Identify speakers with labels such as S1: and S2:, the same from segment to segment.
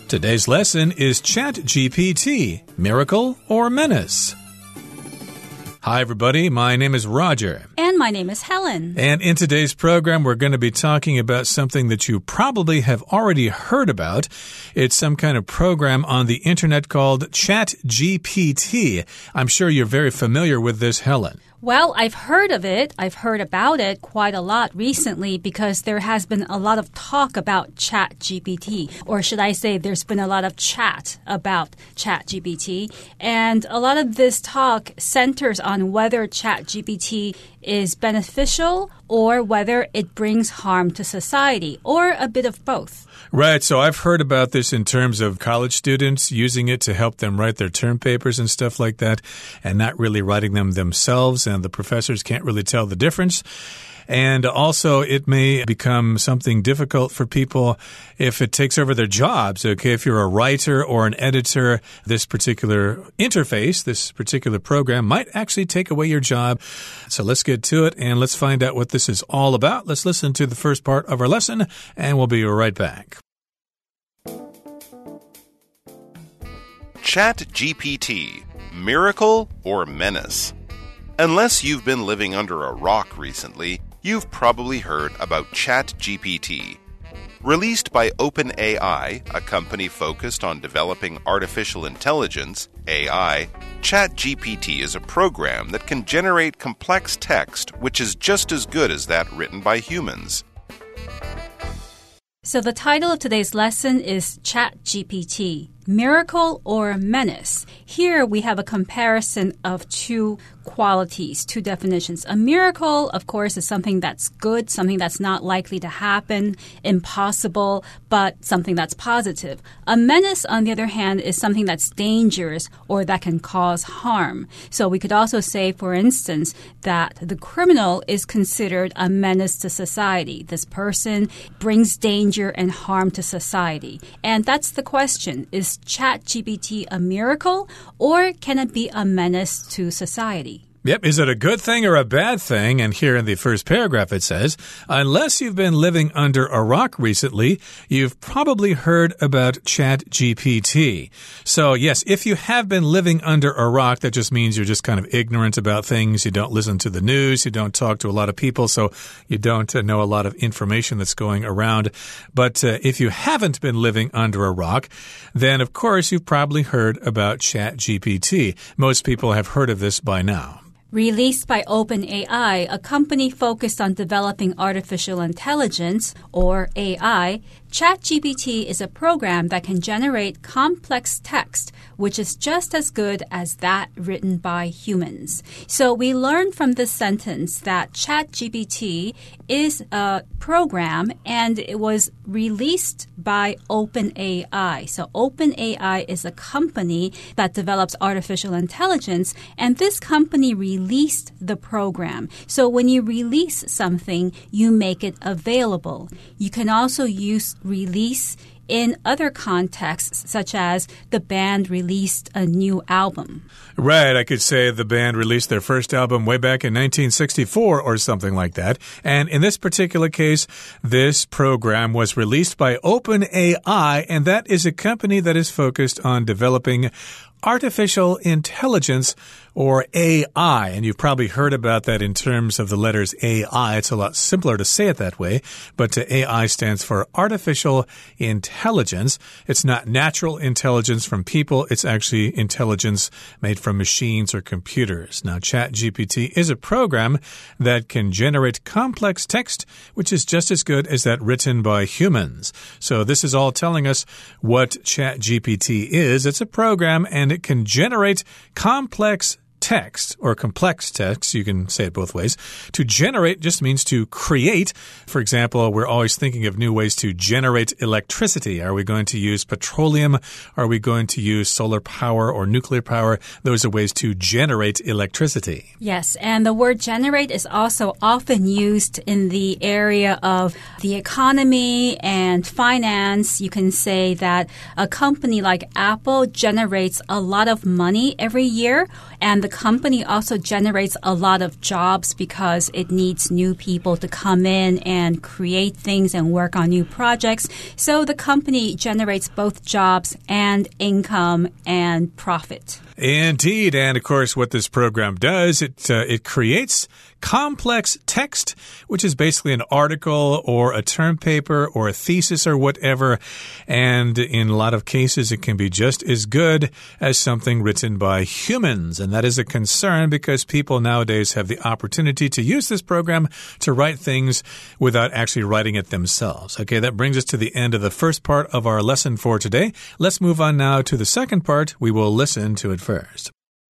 S1: Today's lesson is ChatGPT, Miracle or Menace? Hi, everybody. My name is Roger.
S2: And my name is Helen.
S1: And in today's program, we're going to be talking about something that you probably have already heard about. It's some kind of program on the internet called ChatGPT. I'm sure you're very familiar with this, Helen.
S2: Well, I've heard of it. I've heard about it quite a lot recently because there has been a lot of talk about ChatGPT. Or should I say there's been a lot of chat about ChatGPT. And a lot of this talk centers on whether ChatGPT is beneficial or whether it brings harm to society, or a bit of both.
S1: Right, so I've heard about this in terms of college students using it to help them write their term papers and stuff like that, and not really writing them themselves, and the professors can't really tell the difference. And also, it may become something difficult for people if it takes over their jobs. Okay, if you're a writer or an editor, this particular interface, this particular program might actually take away your job. So let's get to it and let's find out what this is all about. Let's listen to the first part of our lesson and we'll be right back.
S3: ChatGPT, Miracle or Menace? Unless you've been living under a rock recently, you've probably heard about ChatGPT. Released by OpenAI, a company focused on developing artificial intelligence, AI, ChatGPT is a program that can generate complex text which is just as good as that written by humans.
S2: So the title of today's lesson is ChatGPT, Miracle or Menace. Here we have a comparison of two qualities, two definitions. A miracle, of course, is something that's good, something that's not likely to happen, impossible, but something that's positive. A menace, on the other hand, is something that's dangerous or that can cause harm. So we could also say, for instance, that the criminal is considered a menace to society. This person brings danger and harm to society. And that's the question. Is ChatGPT a miracle or can it be a menace to society?
S1: Yep, is it a good thing or a bad thing? And here in the first paragraph it says, unless you've been living under a rock recently, you've probably heard about ChatGPT. So yes, if you have been living under a rock, that just means you're just kind of ignorant about things. You don't listen to the news. You don't talk to a lot of people. So you don't know a lot of information that's going around. But if you haven't been living under a rock, then of course you've probably heard about ChatGPT. Most people have heard of this by now.
S2: Released by OpenAI, a company focused on developing artificial intelligence, or AI, ChatGPT is a program that can generate complex text, which is just as good as that written by humans. So we learned from this sentence that ChatGPT is a program and it was released by OpenAI. So OpenAI is a company that develops artificial intelligence, and this company released the program. So when you release something, you make it available. You can also use release in other contexts, such as the band released a new album.
S1: Right, I could say the band released their first album way back in 1964 or something like that. And in this particular case, this program was released by OpenAI, and that is a company that is focused on developing artificial intelligence, or AI. And you've probably heard about that in terms of the letters AI. It's a lot simpler to say it that way, but AI stands for artificial intelligence. It's not natural intelligence from people. It's actually intelligence made from machines or computers. Now, ChatGPT is a program that can generate complex text, which is just as good as that written by humans. So this is all telling us what ChatGPT is. It's a program and it can generate complex text or complex text, you can say it both ways. To generate just means to create. For example, we're always thinking of new ways to generate electricity. Are we going to use petroleum? Are we going to use solar power or nuclear power? Those are ways to generate electricity.
S2: Yes, and the word generate is also often used in the area of the economy and finance. You can say that a company like Apple generates a lot of money every year, and the company also generates a lot of jobs because it needs new people to come in and create things and work on new projects. So the company generates both jobs and income and profit.
S1: Indeed. And of course, what this program does, it creates complex text, which is basically an article or a term paper or a thesis or whatever. And in a lot of cases, it can be just as good as something written by humans. And that is a concern because people nowadays have the opportunity to use this program to write things without actually writing it themselves. Okay, that brings us to the end of the first part of our lesson for today. Let's move on now to the second part. We will listen to it first.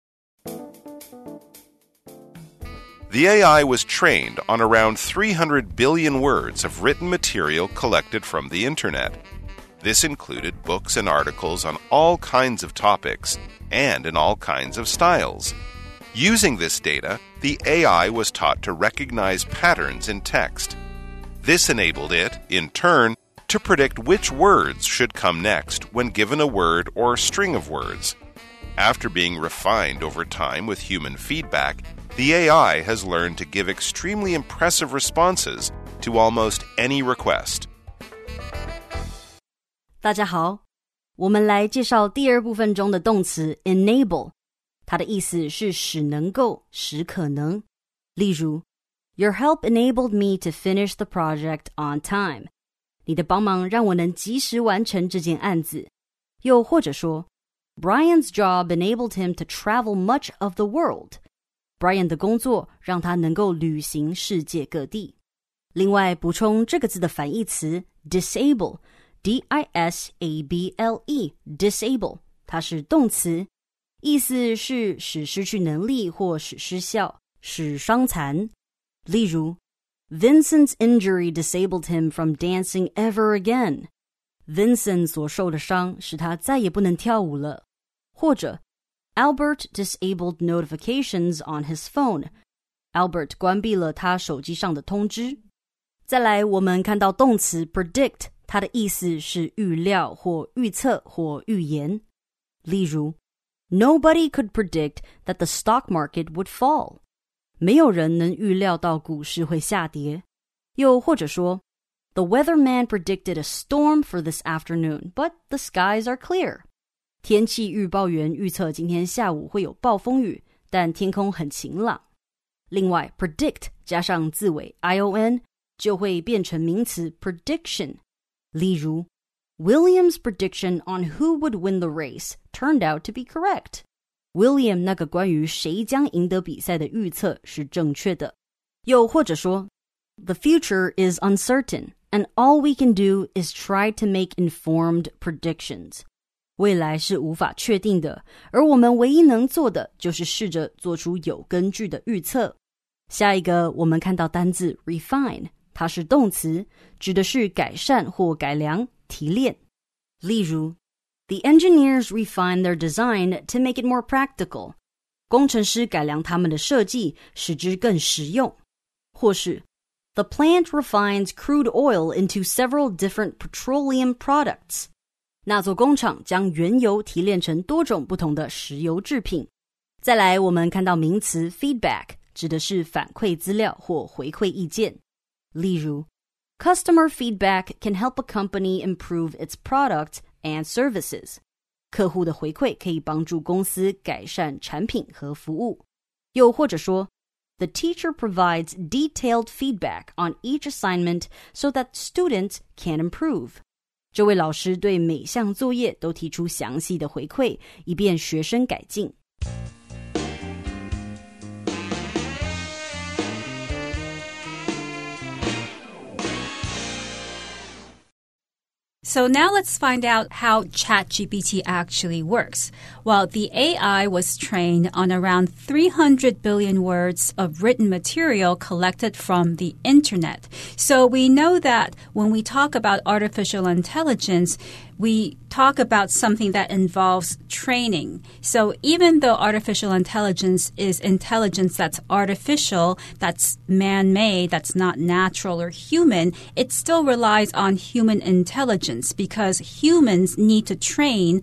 S3: The AI was trained on around 300 billion words of written material collected from the internet. This included books and articles on all kinds of topics and in all kinds of styles. Using this data, the AI was taught to recognize patterns in text. This enabled it, in turn, to predict which words should come next when given a word or string of words. After being refined over time with human feedback, the AI has learned to give extremely impressive responses to almost any request.
S4: 大家好，我們來介紹第二部分中的動詞 enable， 它的意思是使能夠、使可能。例如 Your help enabled me to finish the project on time. 你的幫忙讓我能及時完成這件案子。又或者說Brian's job enabled him to travel much of the world. Brian 的工作讓他能夠旅行世界各地。另外補充這個字的反義詞 disable, D-I-S-A-B-L-E, disable, 它是動詞，意思是使失去能力或使失效，使傷殘。例如 Vincent's injury disabled him from dancing ever again. Vincent 所受的傷使他再也不能跳舞了。或者Albert disabled notifications on his phone. Albert 關閉了他手機上的通知。再來，我們看到動詞 predict， 它的意思是預料或預測或預言。例如 Nobody could predict that the stock market would fall. 沒有人能預料到股市會下跌。又或者說The weatherman predicted a storm for this afternoon, but the skies are clear. 天氣預報員預測今天下午會有暴風雨，但天空很晴朗。另外 predict 加上字尾 ion 就會變成名詞 prediction。例如 William's prediction on who would win the race turned out to be correct. William 那個關於誰將贏得比賽的預測是正確的。又或者說The future is uncertain, and all we can do is try to make informed predictions. 未來是無法確定的，而我們唯一能做的就是試着做出有根據的預測。下一個，我們看到單字 refine， 它是動詞，指的是改善或改良、提煉。例如 The engineers refined their design to make it more practical. 工程師改良他們的設計，使之更實用。或是The plant refines crude oil into several different petroleum products. 那座工廠將原油提煉成多種不同的石油製品。再來，我們看到名詞 feedback， 指的是反饋資料或回饋意見。例如 Customer feedback can help a company improve its product and services. 客戶的回饋可以幫助公司改善產品和服務。又或者說The teacher provides detailed feedback on each assignment so that students can improve. 這位老師對每項作業都提出詳細的回饋，以便學生改進。
S2: So now let's find out how ChatGPT actually works. Well, the AI was trained on around 300 billion words of written material collected from the internet. So we know that when we talk about artificial intelligence, we talk about something that involves training. So even though artificial intelligence is intelligence that's artificial, that's man-made, that's not natural or human, it still relies on human intelligence because humans need to train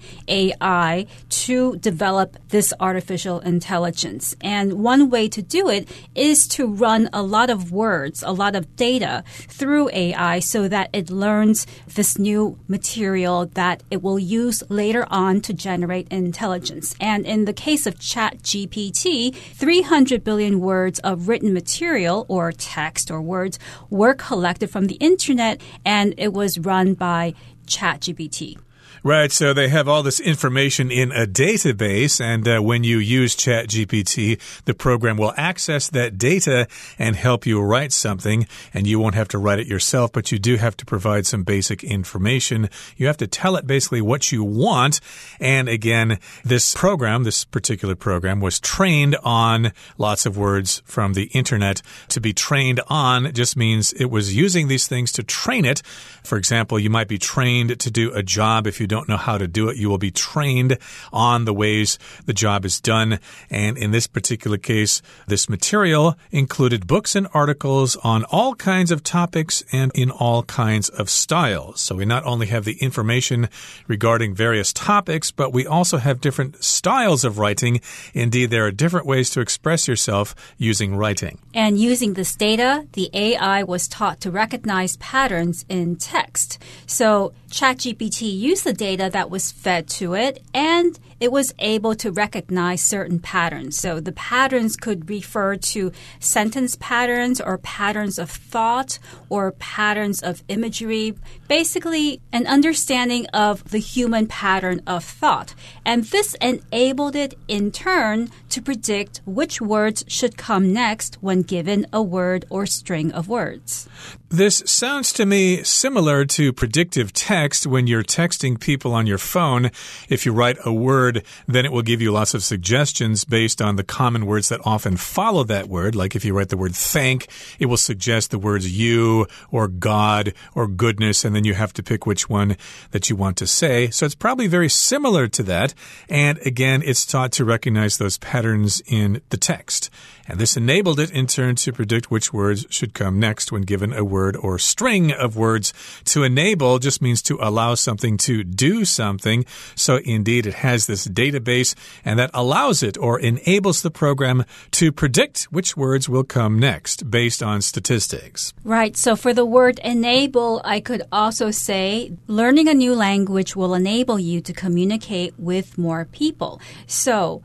S2: AI to develop this artificial intelligence. And one way to do it is to run a lot of words, a lot of data through AI so that it learns this new material that it will use later on to generate intelligence. And in the case of ChatGPT, 300 billion words of written material or text or words were collected from the internet, and it was run by ChatGPT.
S1: Right, so they have all this information in a database, and when you use ChatGPT, the program will access that data and help you write something, and you won't have to write it yourself, but you do have to provide some basic information. You have to tell it basically what you want, and again, this particular program, was trained on lots of words from the internet. To be trained on just means it was using these things to train it. For example, you might be trained to do a job. If you don't know how to do it, you will be trained on the ways the job is done. And in this particular case, this material included books and articles on all kinds of topics and in all kinds of styles. So we not only have the information regarding various topics, but we also have different styles of writing. Indeed, there are different ways to express yourself using writing.
S2: And using this data, the AI was taught to recognize patterns in text. So ChatGPT used the data that was fed to it, and it was able to recognize certain patterns. So the patterns could refer to sentence patterns or patterns of thought or patterns of imagery, basically an understanding of the human pattern of thought. And this enabled it in turn to predict which words should come next when given a word or string of words.
S1: This sounds to me similar to predictive text when you're texting people on your phone. If you write a word, then it will give you lots of suggestions based on the common words that often follow that word. Like if you write the word thank, it will suggest the words you or God or goodness, and then you have to pick which one that you want to say. So it's probably very similar to that. And again, it's taught to recognize those patterns in the text. And this enabled it in turn to predict which words should come next when given a word or string of words. To enable just means to allow something to do something. So indeed, it has this database, and that allows it or enables the program to predict which words will come next based on statistics.
S2: Right. So for the word enable, I could also say learning a new language will enable you to communicate with more people. So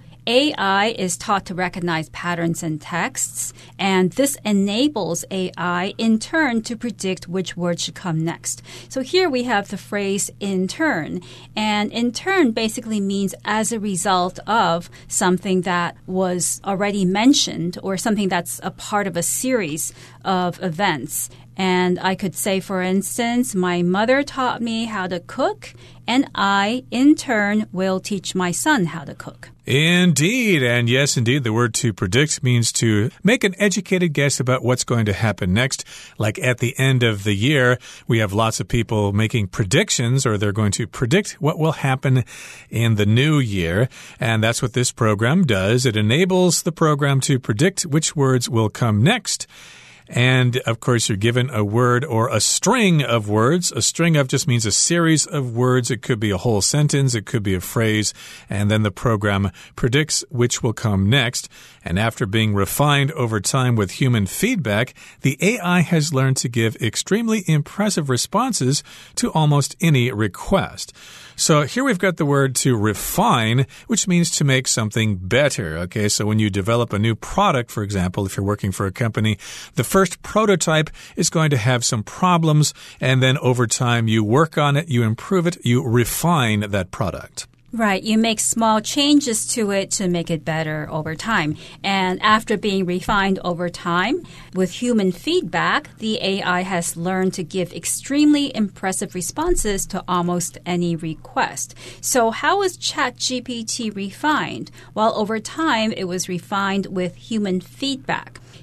S2: AI is taught to recognize patterns in texts, and this enables AI in turn to predict which word should come next. So here we have the phrase in turn, and in turn basically means as a result of something that was already mentioned or something that's a part of a series of events. And I could say, for instance, my mother taught me how to cook, and I, in turn, will teach my son how to cook.
S1: Indeed. And yes, indeed, the word to predict means to make an educated guess about what's going to happen next. Like at the end of the year, we have lots of people making predictions, or they're going to predict what will happen in the new year. And that's what this program does. It enables the program to predict which words will come next. And, of course, you're given a word or a string of words. A string of just means a series of words. It could be a whole sentence. It could be a phrase. And then the program predicts which will come next. And after being refined over time with human feedback, the AI has learned to give extremely impressive responses to almost any request. So here we've got the word to refine, which means to make something better. Okay, so when you develop a new product, for example, if you're working for a company, the first prototype is going to have some problems, and then over time you work on it, you improve it, you refine that product.
S2: Right. You make small changes to it to make it better over time. And after being refined over time, with human feedback, the AI has learned to give extremely impressive responses to almost any request. So how was ChatGPT refined? Well, over time, it was refined with human feedback.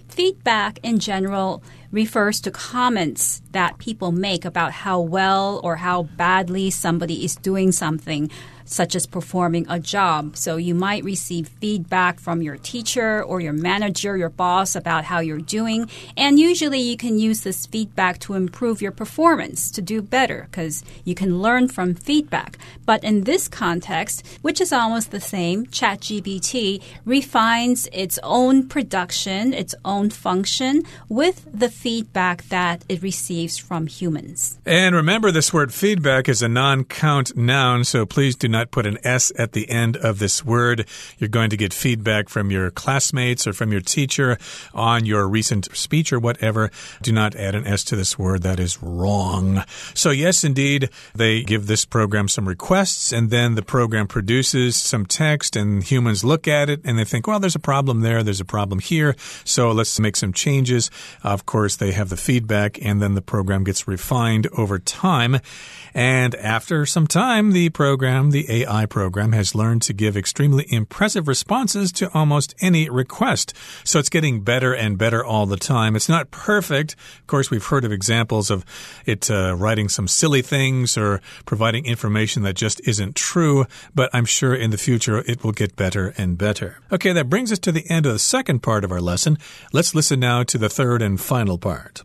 S2: Feedback in general refers to comments that people make about how well or how badly somebody is doing something, such as performing a job. So you might receive feedback from your teacher or your manager, your boss, about how you're doing. And usually you can use this feedback to improve your performance, to do better, because you can learn from feedback. But in this context, which is almost the same, ChatGPT refines its own production, its own function with the feedback that it receives from humans.
S1: And remember, this word feedback is a non-count noun, so please do not put an S at the end of this word. You're going to get feedback from your classmates or from your teacher on your recent speech or whatever. Do not add an S to this word. That is wrong. So yes, indeed, they give this program some requests, and then the program produces some text, and humans look at it and they think, well, there's a problem there, there's a problem here, so let's make some changes. Of course, they have the feedback, and then the program gets refined over time. And after some time, the AI program has learned to give extremely impressive responses to almost any request. So it's getting better and better all the time. It's not perfect. Of course, we've heard of examples of it writing some silly things or providing information that just isn't true, but I'm sure in the future it will get better and better. Okay, that brings us to the end of the second part of our lesson. Let's listen now to the third and final part.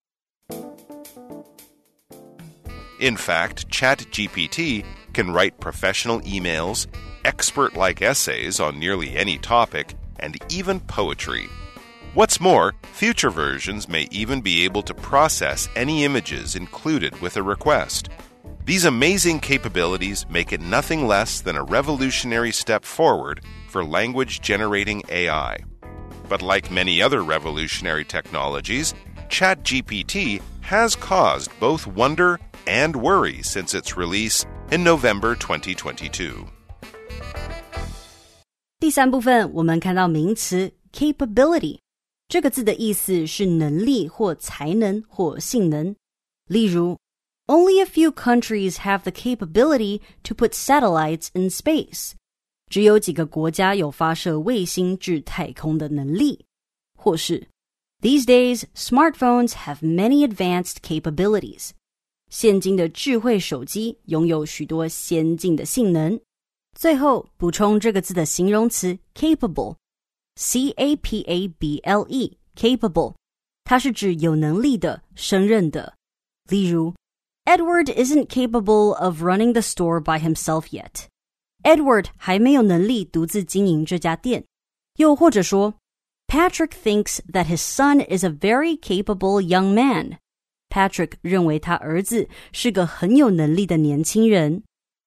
S3: In fact, ChatGPT can write professional emails, expert-like essays on nearly any topic, and even poetry. What's more, future versions may even be able to process any images included with a request. These amazing capabilities make it nothing less than a revolutionary step forward for language-generating AI. But like many other revolutionary technologies, ChatGPT has caused both wonder and worry since its release in November 2022.
S4: 第三部分我们看到名詞 capability 這個字的意思是能力或才能或性能。例如 Only a few countries have the capability to put satellites in space. 只有幾個國家有發射衛星至太空的能力。或是 These days, smartphones have many advanced capabilities. 現今的智慧手機擁有許多先進的性能。最後補充這個字的形容詞 capable, C-A-P-A-B-L-E, capable, 它是指有能力的、勝任的。例如 Edward isn't capable of running the store by himself yet. Edward 還沒有能力獨自經營這家店。又或者說 Patrick thinks that his son is a very capable young man.Patrick 認為他兒子是個很有能力的年輕人。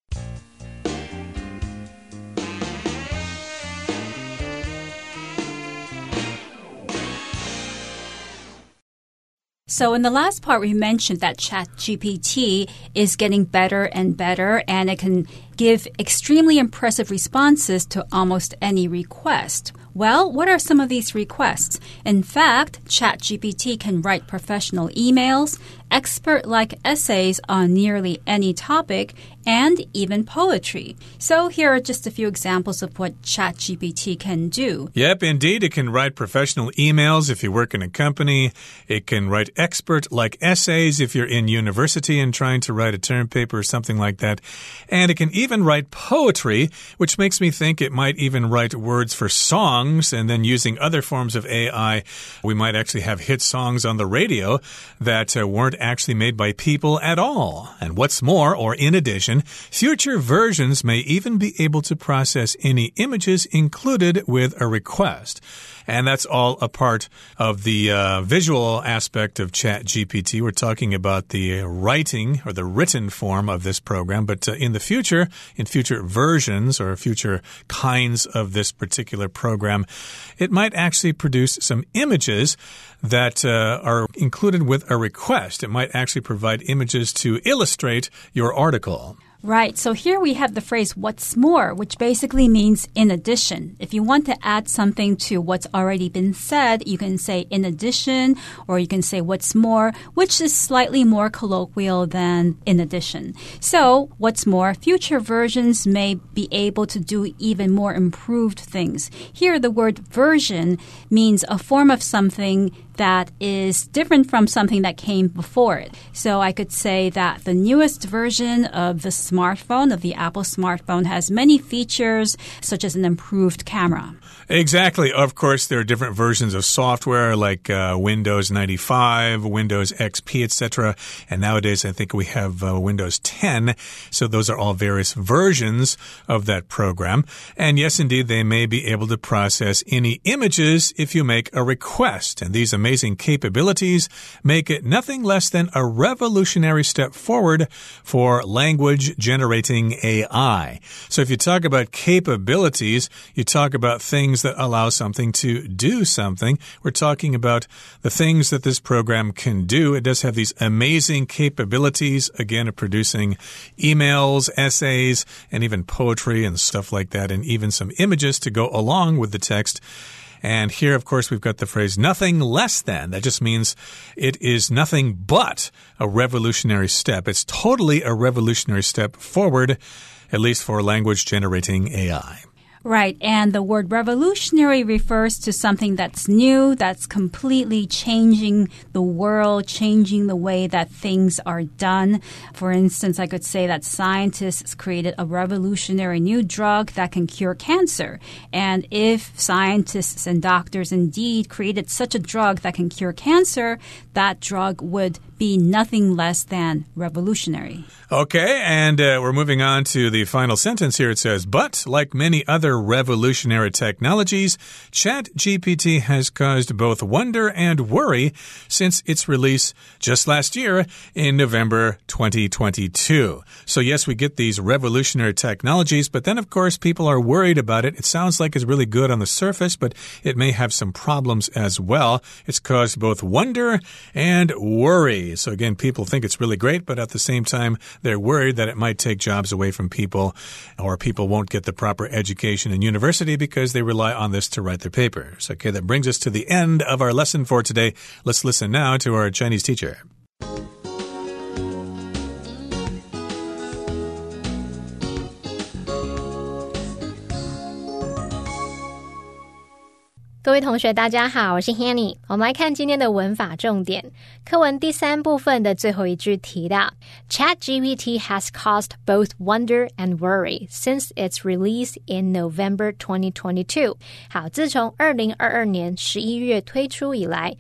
S2: So in the last part, we mentioned that ChatGPT is getting better and better, and it can give extremely impressive responses to almost any request. Well, what are some of these requests? In fact, ChatGPT can write professional emails, expert-like essays on nearly any topic, and even poetry. So here are just a few examples of what ChatGPT can do.
S1: Yep, indeed. It can write professional emails if you work in a company. It can write expert-like essays if you're in university and trying to write a term paper or something like that. And it can even write poetry, which makes me think it might even write words for songs. And then using other forms of AI, we might actually have hit songs on the radio that weren't actually made by people at all. And what's more, or in addition, future versions may even be able to process any images included with a request. And that's all a part of the visual aspect of ChatGPT. We're talking about the writing or the written form of this program. But in the future, in future versions or future kinds of this particular program, it might actually produce some images that are included with a request. It might actually provide images to illustrate your article.
S2: Right. So here we have the phrase what's more, which basically means in addition. If you want to add something to what's already been said, you can say in addition, or you can say what's more, which is slightly more colloquial than in addition. So what's more, future versions may be able to do even more improved things. Here, the word version means a form of something that is different from something that came before it. So I could say that the newest version of the smartphone, of the Apple smartphone, has many features such as an improved camera.
S1: Exactly. Of course, there are different versions of software like Windows 95, Windows XP, etc. And nowadays, I think we have Windows 10. So those are all various versions of that program. And yes, indeed, they may be able to process any images if you make a request. And these amazing capabilities make it nothing less than a revolutionary step forward for language generating AI. So if you talk about capabilities, you talk about things that allow something to do something. We're talking about the things that this program can do. It does have these amazing capabilities, again, of producing emails, essays, and even poetry and stuff like that, and even some images to go along with the text. And here, of course, we've got the phrase nothing less than. That just means it is nothing but a revolutionary step. It's totally a revolutionary step forward, at least for language generating AI.
S2: Right, and the word revolutionary refers to something that's new, that's completely changing the world, changing the way that things are done. For instance, I could say that scientists created a revolutionary new drug that can cure cancer. And if scientists and doctors indeed created such a drug that can cure cancer, that drug would be nothing less than revolutionary.
S1: Okay, and we're moving on to the final sentence here. It says, but like many other revolutionary technologies, ChatGPT has caused both wonder and worry since its release just last year in November 2022. So yes, we get these revolutionary technologies, but then of course people are worried about it. It sounds like it's really good on the surface, but it may have some problems as well. It's caused both wonder and worry. So again, people think it's really great, but at the same time, they're worried that it might take jobs away from people, or people won't get the proper education in university because they rely on this to write their papers. Okay, that brings us to the end of our lesson for today. Let's listen now to our Chinese teacher.
S5: 各位同学大家好，我是 Hanny。 我们来看今天的文法重点。課文第3部分的最後一句提到 ChatGPT has caused both wonder and worry since its release in November 2022。 好，自從2022年11月推出以來，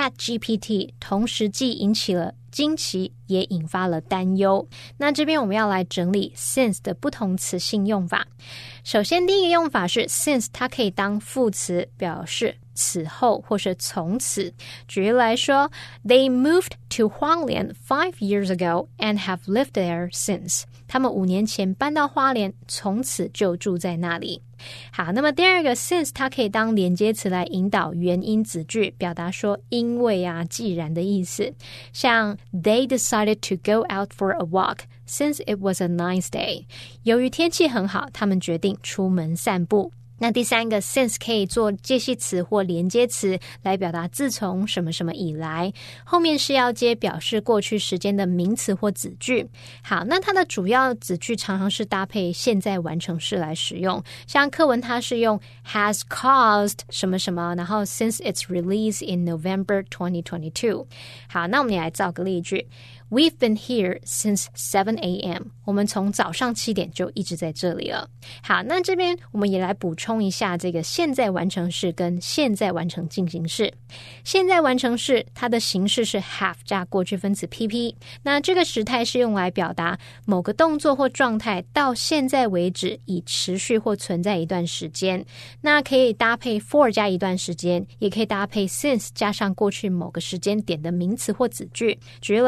S5: ChatGPT 同時既引起了驚奇也引發了擔憂。那這邊我們要來整理 since 的不同詞性用法。首先第一個用法是 since 它可以當副詞，表示此後或是從此。舉例來說 They moved to Hualien 5 years ago and have lived there since。 他們5年前搬到花蓮，從此就住在那裡。好，那麼第二個 since 它可以當連接詞來引導原因子句，表達說因為啊既然的意思。像 They decided to go out for a walk since it was a nice day。 由於天氣很好，他們決定出門散步。那第三個 since 可以做介系詞或連接詞來表達自從什麼什麼以來，後面是要接表示過去時間的名詞或子句。好，那它的主要子句常常是搭配現在完成式來使用，像課文它是用 has caused 什麼什麼，然後 since its release in November 2022。 好，那我們也來造個例句。We've been here since 7 a.m. 我們從早上7點就一直在這裡了。好，那這邊我們也來補充一下這個現在完成式跟現在完成進行式。現在完成式它的形式是 have 加過去分詞 PP。那這個時態是用來表達某個動作或狀態到現在為止已持續或存在一段時間。那可以搭配 for 加一段時間，也可以搭配 since 加上過去某個時間點的名詞或子句。舉例來說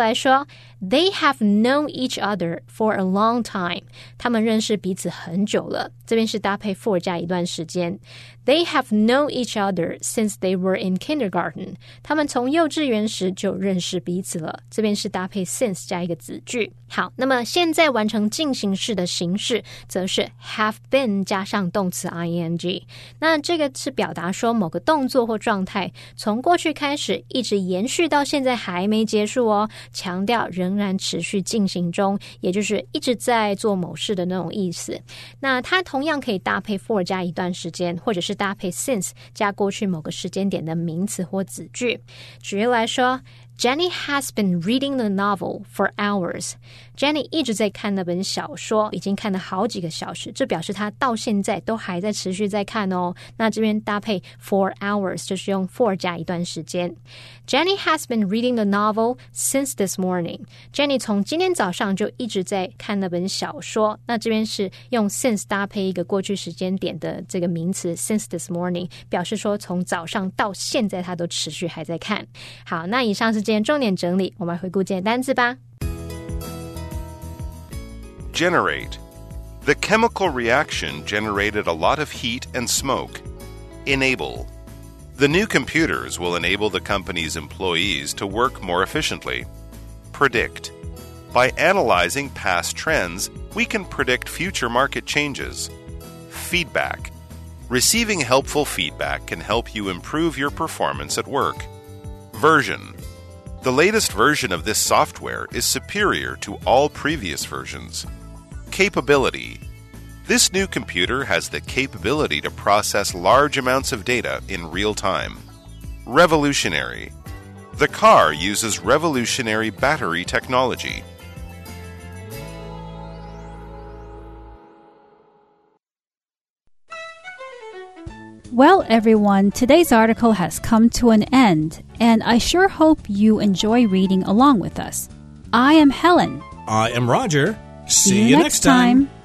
S5: They have known each other for a long time. 他们認識彼此很久了。這邊是搭配 for 加一段時間。They have known each other since they were in kindergarten. 他們從幼稚園時就認識彼此了。這邊是搭配 since 加一個子句。好，那麼現在完成進行式的形式則是 have been 加上動詞 ing。那這個是表達說某個動作或狀態從過去開始一直延續到現在還沒結束哦，強調仍然持續進行中，也就是一直在做某事的那種意思。那它同樣可以搭配 for 加一段時間，或者是搭配 since 加過去某個時間點的名詞或子句。舉例來說，Jenny has been reading the novel for hours. Jenny 一直在看那本小說，已經看了好幾個小時，這表示她到現在都還在持續在看哦。那這邊搭配 for hours 就是用 for 加一段時間。Jenny has been reading the novel since this morning. Jenny 從今天早上就一直在看那本小說。那這邊是用 since 搭配一個過去時間點的這個名詞 since this morning， 表示說從早上到現在她都持續還在看。好，那以上是今天重點整理，我們來回顧今天單字吧。
S3: Generate. The chemical reaction generated a lot of heat and smoke. Enable. The new computers will enable the company's employees to work more efficiently. Predict. By analyzing past trends, we can predict future market changes. Feedback. Receiving helpful feedback can help you improve your performance at work. Version. The latest version of this software is superior to all previous versions. Capability. This new computer has the capability to process large amounts of data in real time. Revolutionary. The car uses revolutionary battery technology.
S2: Well, everyone, today's article has come to an end, and I sure hope you enjoy reading along with us. I am Helen.
S1: I am Roger.
S2: See you next time.